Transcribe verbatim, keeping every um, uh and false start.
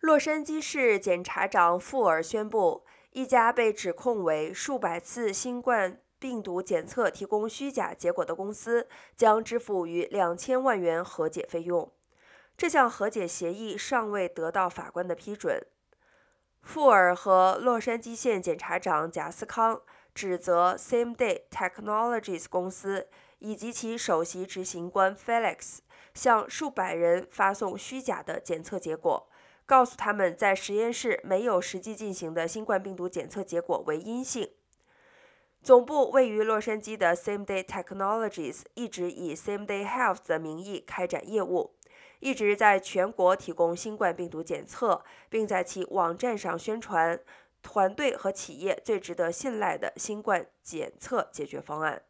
洛杉矶市检察长富尔宣布，一家被指控为数百次新冠病毒检测提供虚假结果的公司将支付逾两千万元和解费用。这项和解协议尚未得到法官的批准。富尔和洛杉矶县检察长贾斯康指责 Same Day Technologies 公司以及其首席执行官 Felix 向数百人发送虚假的检测结果，告诉他们在实验室没有实际进行的新冠病毒检测结果为阴性。总部位于洛杉矶的 Same Day Technologies 一直以 Same Day Health 的名义开展业务，一直在全国提供新冠病毒检测，并在其网站上宣传团队和企业最值得信赖的新冠检测解决方案。